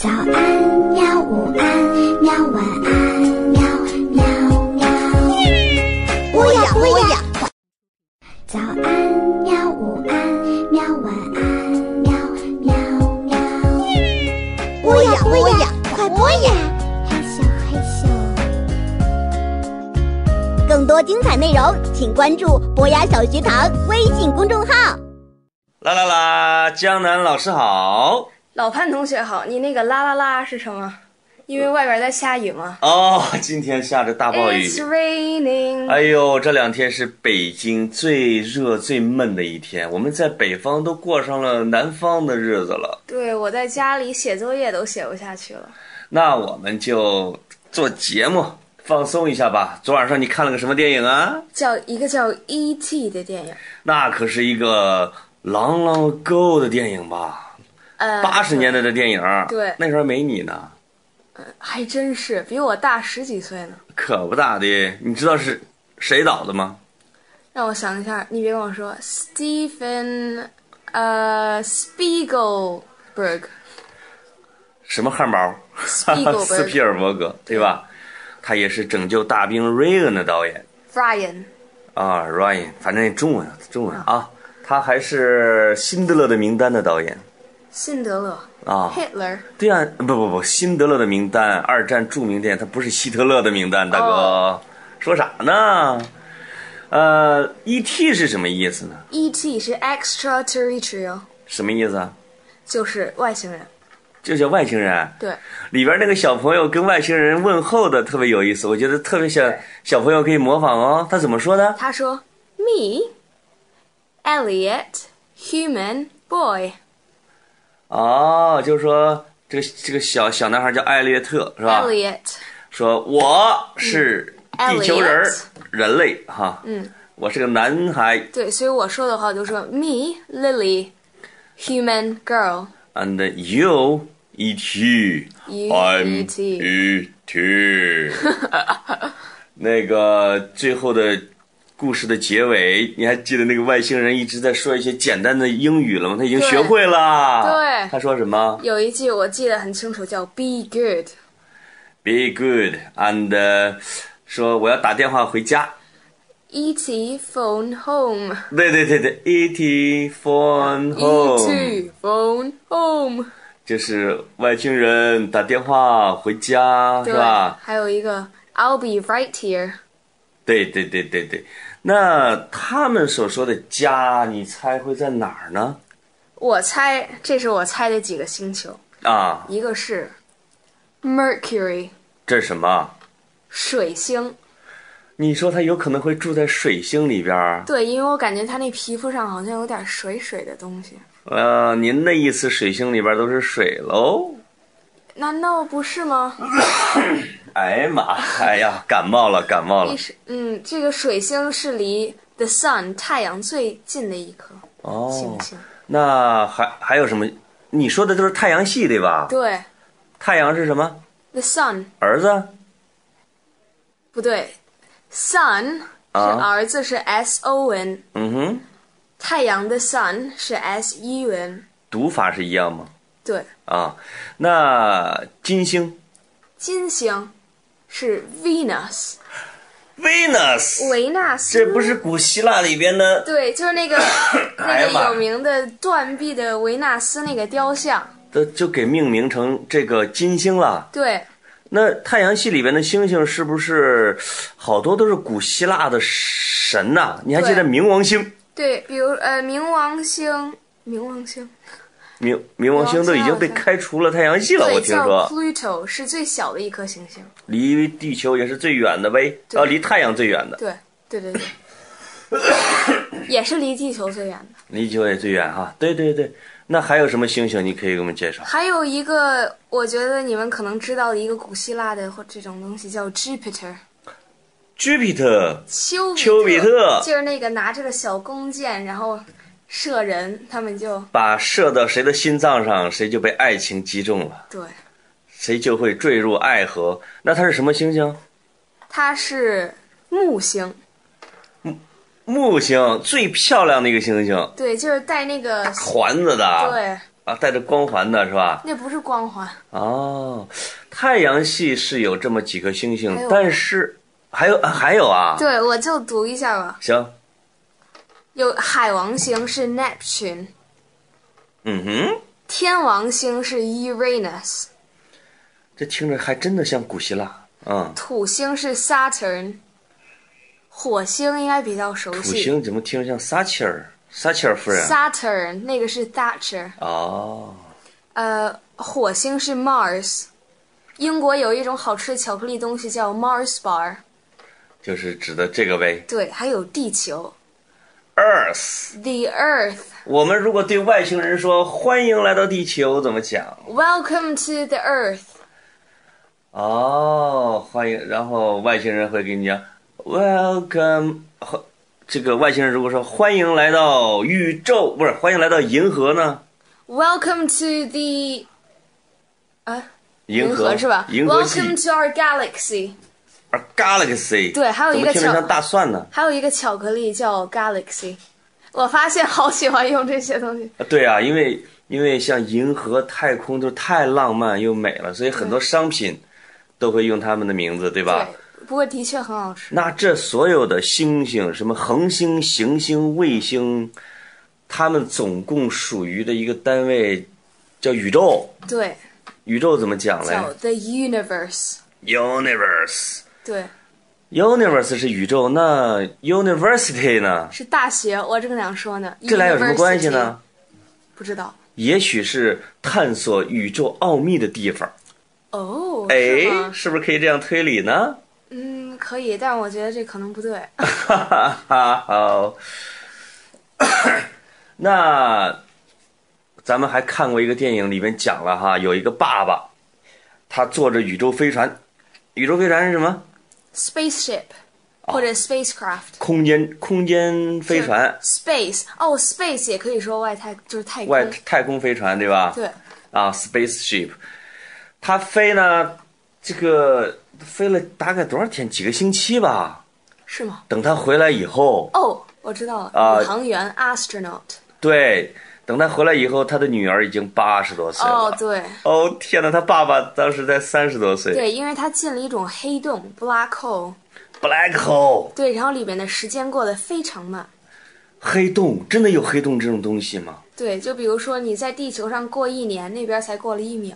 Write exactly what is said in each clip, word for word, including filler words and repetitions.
早安喵，午安喵，晚安喵喵喵。播呀播呀！早安喵，午安喵，晚安喵喵喵。播呀播呀，快播呀！害羞害羞。更多精彩内容，请关注博雅小学堂微信公众号。 啦啦啦，江南老师好。 老潘同学好，你那个啦啦啦是什么？因为外边在下雨吗？ 哦，今天下着大暴雨。 It's raining。 哎呦，这两天是北京最热最闷的一天，我们在北方都过上了南方的日子了。 对，我在家里写作业都写不下去了。 那我们就做节目放松一下吧。昨晚上你看了个什么电影啊？ 叫一个叫 E T 的电影。 那可是一个 long long ago 的电影吧？ 呃， 八十年代的电影。 对， 那时候没你呢。 呃，还真是比我大十几岁呢。 可不大的。你知道是谁导的吗？ 让我想一下，你别跟我说 Stephen 呃 Spielberg。 什么汉堡？斯皮尔伯格，对吧？他也是拯救大兵瑞恩的导演。 Ryan 啊 ，Ryan， 反正中文中文啊，他还是辛德勒的名单的导演。 辛德勒啊 ，Hitler。 对啊，不不不，辛德勒的名单，二战著名电影，他不是希特勒的名单，大哥，哦、说啥呢？呃 ，E T 是什么意思呢 ？E T 是 extraterrestrial。 什么意思啊？ 就是外星人。 就叫外星人。 对， 里边那个小朋友跟外星人问候的特别有意思，我觉得特别想小朋友可以模仿哦。他怎么说的？ 他说 ：“Me, Elliot, human boy。” 哦，就是说这个这个小小男孩叫艾略特，是吧 ？Elliot 说我是地球人，嗯、人类哈。 嗯， 我是个男孩。 对，所以我说的话就说 Me, Lily, human girl. And you, E T. I'm E T. E T. 那个最后的故事的结尾，你还记得那个外星人一直在说一些简单的英语了吗？他已经学会了。 对， 他说什么？ 有一句我记得很清楚，叫 Be good. Be good and、uh, 说我要打电话回家。 E T phone home. 对对对对 ，E T phone home. E T phone home. 就是外星人打电话回家，是吧？ 还有一个 I'll be right here. 对对对对对。那他们所说的家，你猜会在哪儿呢？ 我猜，这是我猜的几个星球啊。 一个是 Mercury。 这是什么？ 水星。 你说他有可能会住在水星里边？ 对，因为我感觉他那皮肤上好像有点水水的东西。 呃，您的意思水星里边都是水喽？ 难道不是吗？ 哎呀妈！哎呀，感冒了，感冒了。 嗯，这个水星是离 the sun 太阳最近的一颗星星。 哦，那还还有什么？你说的都是太阳系对吧？ 对。 太阳是什么 ？The sun。 儿子？ 不对 ，sun 是儿子是 S O N。 嗯哼。 太阳的 sun 是 S U N。 读法是一样吗？ 对。 啊，那金星？ 金星是 Venus。 Venus。 维纳斯。 这不是古希腊里边的？ 对，就是那个那个有名的断臂的维纳斯那个雕像。 这就给命名成这个金星了。 对。 那太阳系里边的星星是不是好多都是古希腊的神呐、啊？你还记得冥王星？ 对，比如呃，冥王星，冥王星， 冥冥王星都已经被开除了太阳系了，我听说。 对，叫 Pluto 是最小的一颗行星， 离地球也是最远的呗，啊，离太阳最远的。 对对对对，也是离地球最远的。 离地球也最远哈，对对对。那还有什么星星？你可以给我们介绍。 还有一个，我觉得你们可能知道的一个古希腊的或这种东西叫 Jupiter。Jupiter。 丘丘比特。 就是那个拿着个小弓箭，然后射人，他们就把射到谁的心脏上，谁就被爱情击中了。 对。 谁就会坠入爱河。那它是什么星星？ 它是木星。 木星最漂亮的一个星星， 对，就是带那个环子的， 对， 啊，带着光环的是吧？ 那不是光环。 哦，太阳系是有这么几颗星星， 还有但是还有还有啊。 对，我就读一下吧。 行。 有海王星是 Neptune， 嗯哼。 天王星是 Uranus， 这听着还真的像古希腊。嗯。 土星是 Saturn， 火星应该比较熟悉。 土星怎么听着像撒切尔？撒切尔夫人。 Saturn 那个是 Thatcher。 哦。 呃，火星是 Mars。英国有一种好吃的巧克力东西叫 Mars Bar， 就是指的这个呗。 对，还有地球 Earth。 The Earth。 我们如果对外星人说欢迎来到地球怎么讲？ Welcome to the Earth。 哦，欢迎，然后外星人会给你讲 Welcome。 这个外星人如果说欢迎来到宇宙，不是欢迎来到银河呢？ Welcome to the 啊， 银河是吧？ 银河系 Welcome to our galaxy。 而 Galaxy 对，还有一个巧怎么听着像大蒜呢？ 还有一个巧克力叫 Galaxy。 我发现好喜欢用这些东西。 对啊，因为因为像银河、太空都太浪漫又美了，所以很多商品都会用他们的名字，对吧？ 对，不过的确很好吃。 那这所有的星星，什么恒星、行星、卫星，它们总共属于的一个单位叫宇宙。 对， 宇宙怎么讲嘞？ 叫 The Universe。 Universe。 对， Universe 是宇宙，那 University 呢？ 是大学，我正想说呢。 这俩有什么关系呢？ University 不知道。 也许是探索宇宙奥秘的地方。 哦， 哎， 是吗？ 是不是可以这样推理呢？ 嗯，可以，但我觉得这可能不对。 哈哈哈，好。那咱们还看过一个电影，里面讲了哈，有一个爸爸，他坐着宇宙飞船。宇宙飞船是什么？ Spaceship 或者 spacecraft。 空间空间飞船。 Space 哦 ，space 也可以说外太，就是太空。 外太空飞船对吧？ 对。 啊 ，spaceship， 它飞呢，这个飞了大概多少天？几个星期吧。 是吗？ 等他回来以后。 哦，我知道了， 啊宇航员 astronaut。 对，等他回来以后，他的女儿已经八十多岁了。 哦，对。 哦天哪，他爸爸当时才三十多岁。 对，因为他进了一种黑洞 black hole。 Black hole。 对，然后里面的时间过得非常慢。 黑洞真的有黑洞这种东西吗？ 对，就比如说你在地球上过一年，那边才过了一秒。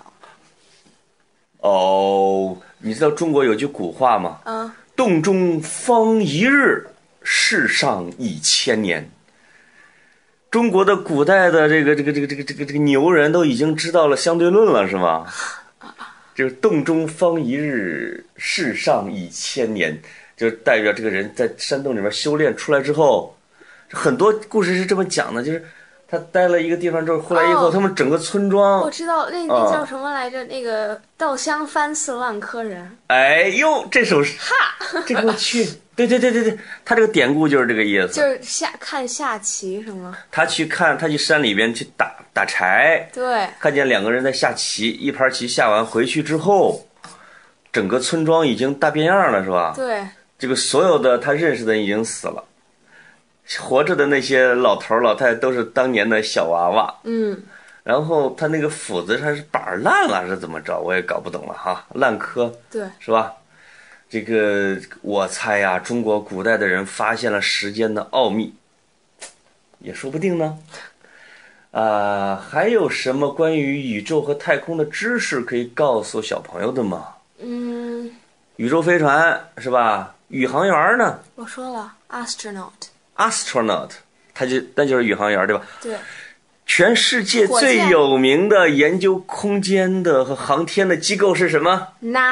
哦，你知道中国有句古话吗？ 嗯。 洞中方一日，世上一千年。中国的古代的这个这个这个这个这个这个牛人都已经知道了相对论了，是吗？就是洞中方一日，世上一千年，就代表这个人在山洞里面修炼出来之后，很多故事是这么讲的，就是他待了一个地方之后，回来以后， 哦、 他们整个村庄， 我知道那那叫什么来着？哦、那个稻香翻似烂柯人。 哎呦，这首诗，哈，这个我去。对对对对对，他这个典故就是这个意思， 就是下看下棋是吗？ 他去看，他去山里边去打打柴， 对， 看见两个人在下棋，一盘棋下完回去之后，整个村庄已经大变样了，是吧？ 对， 这个所有的他认识的人已经死了，活着的那些老头老太太都是当年的小娃娃， 嗯， 然后他那个斧子它是板烂了是怎么着，我也搞不懂了哈，烂柯， 对， 是吧？这个我猜呀、啊，中国古代的人发现了时间的奥秘，也说不定呢。啊、呃，还有什么关于宇宙和太空的知识可以告诉小朋友的吗？ 嗯， 宇宙飞船是吧？宇航员呢？ 我说了 ，astronaut。 astronaut， 他就那就是宇航员对吧？ 对。 全世界最有名的研究空间的和航天的机构是什么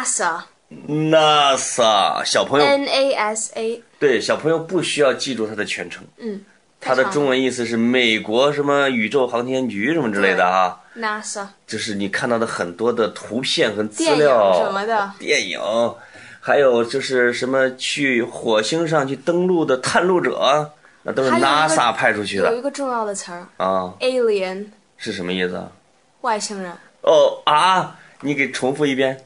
？NASA。NASA， 小朋友 N A S A， 对，小朋友不需要记住它的全称， 嗯， 它的中文意思是美国什么宇宙航天局什么之类的啊 ，NASA， 就是你看到的很多的图片和资料， 电影什么的， 电影，还有就是什么去火星上去登陆的探路者，那都是 NASA 派出去的。 有一个重要的词儿啊 ，alien 是什么意思啊？ 外星人。 哦啊，你给重复一遍。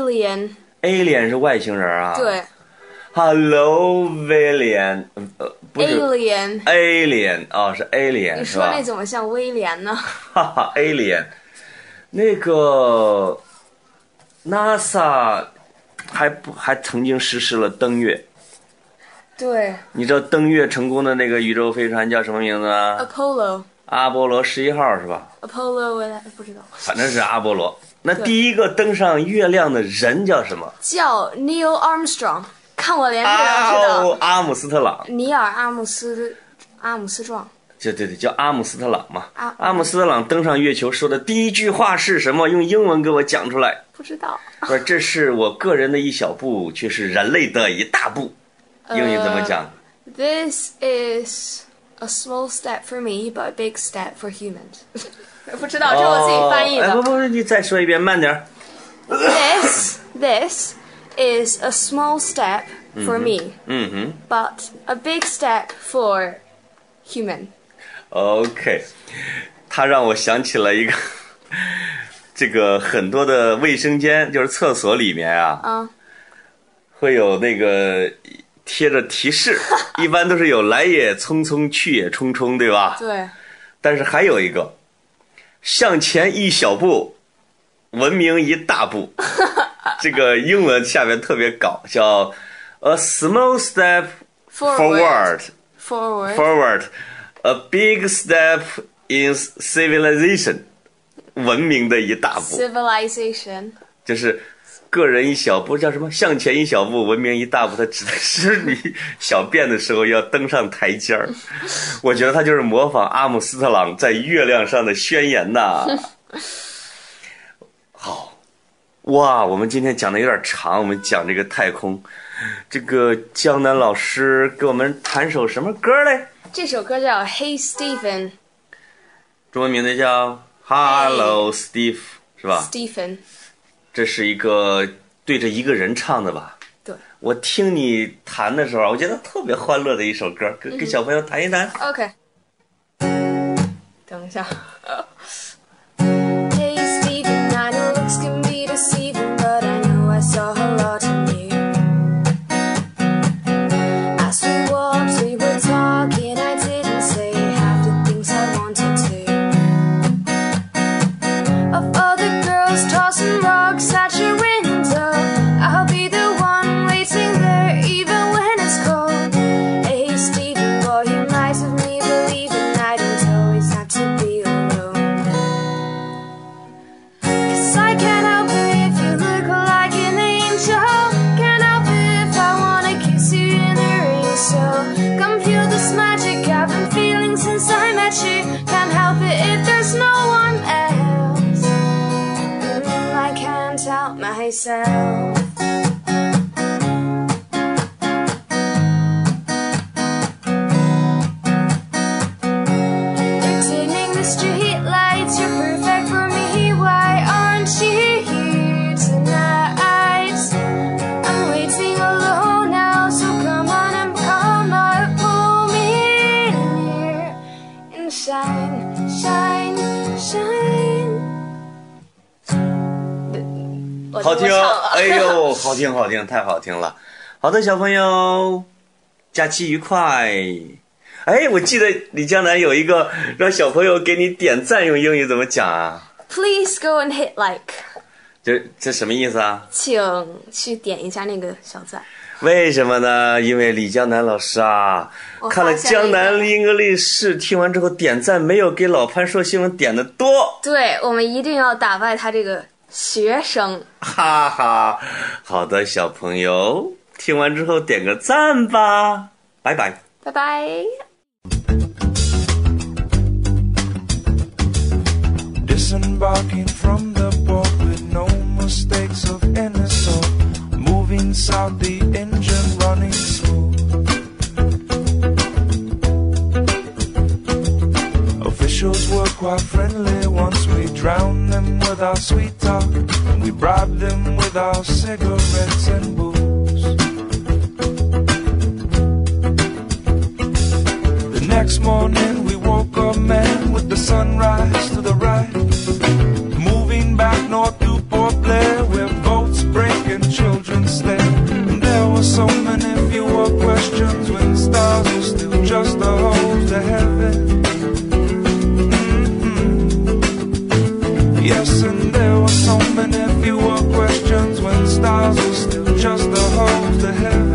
alien。 alien 是外星人啊？ 对。 Hello， William，呃， 不是 alien alien 哦，是 alien 你是吧？ 说那怎么像威廉呢？ 哈哈 alien， 那个 NASA 还不还曾经实施了登月。 对， 你知道登月成功的那个宇宙飞船叫什么名字啊？ Apollo 阿波罗十一号是吧？ Apollo 不知道， 反正是阿波罗。那第一个登上月亮的人叫什么？ 叫 Neil Armstrong。看我脸就能知道。 啊，阿姆斯特朗。 尼尔阿姆斯阿姆斯壮。 就对对，叫阿姆斯特朗嘛。 啊、 阿姆斯特朗登上月球说的第一句话是什么？用英文给我讲出来。 不知道。 不是，这是我个人的一小步，却是人类的一大步。英语怎么讲、 uh,？This is a small step for me, but a big step for humans 。不知道，这是我自己翻译的。 哦、哎不不，你再说一遍，慢点。 This this is a small step for me, 嗯哼 but a big step for human. OK， 他让我想起了一个，这个很多的卫生间，就是厕所里面啊， 嗯， 会有那个贴着提示，一般都是有来也匆匆，去也匆匆，对吧？ 对。 但是还有一个，向前一小步，文明一大步。这个英文下面特别搞笑 ，a small step forward, forward, forward, a big step in civilization， 文明的一大步。 civilization 就是个人一小步，叫什么？向前一小步，文明一大步。它指的是你小便的时候要登上台阶儿。我觉得他就是模仿阿姆斯特朗在月亮上的宣言呐。好。哇，我们今天讲的有点长，我们讲这个太空。这个江南老师给我们弹首什么歌嘞？ 这首歌叫 Hey Stephen， 中文名字叫 Hello Steve， 是吧 Stephen， 这是一个对着一个人唱的吧？ 对。 我听你弹的时候，我觉得特别欢乐的一首歌，给给小朋友弹一弹。 OK。等一下。But I know I saw a lot in you. As we walked, we were talking. I didn't say half the things I wanted to. Of all the girls tossing rocks at your window, I'll be the one waiting there even when it's cold. Hey Stephen, boy, you might have me believing I don't always have to be alone. 'Cause I can't help it. Can't help it if I wanna kiss you in the rain. So come feel this magic I've been feeling since I met you. Can't help it if there's no one else. Mm, I can't help myself. They're dimming the street lights. You're perfect for me. Why aren't you here tonight? Shine, shine, shine。 好听，哎呦，好听好听，太好听了。好的，小朋友，假期愉快。哎，我记得李江南有一个让小朋友给你点赞，用英语怎么讲啊 ？Please go and hit like。 这这什么意思啊？ 请去点一下那个小赞。 为什么呢？因为李江南老师啊，看了江南英格丽士，听完之后点赞没有给老潘说新闻点的多。 对，我们一定要打败他这个学生。 哈哈，好的，小朋友，听完之后点个赞吧，拜拜， 拜拜。Disembarking from the port with no mistakes of any sort. Moving south, the engine running slow. Officials were quite friendly once we drowned them with our sweet talk, and we bribed them with our cigarettes and booze. The next morning we woke up, man, with the sunrise to the right, moving back north to Port Blair, where boats break and children stare. And there were so many fewer questions when stars were still just the heavens.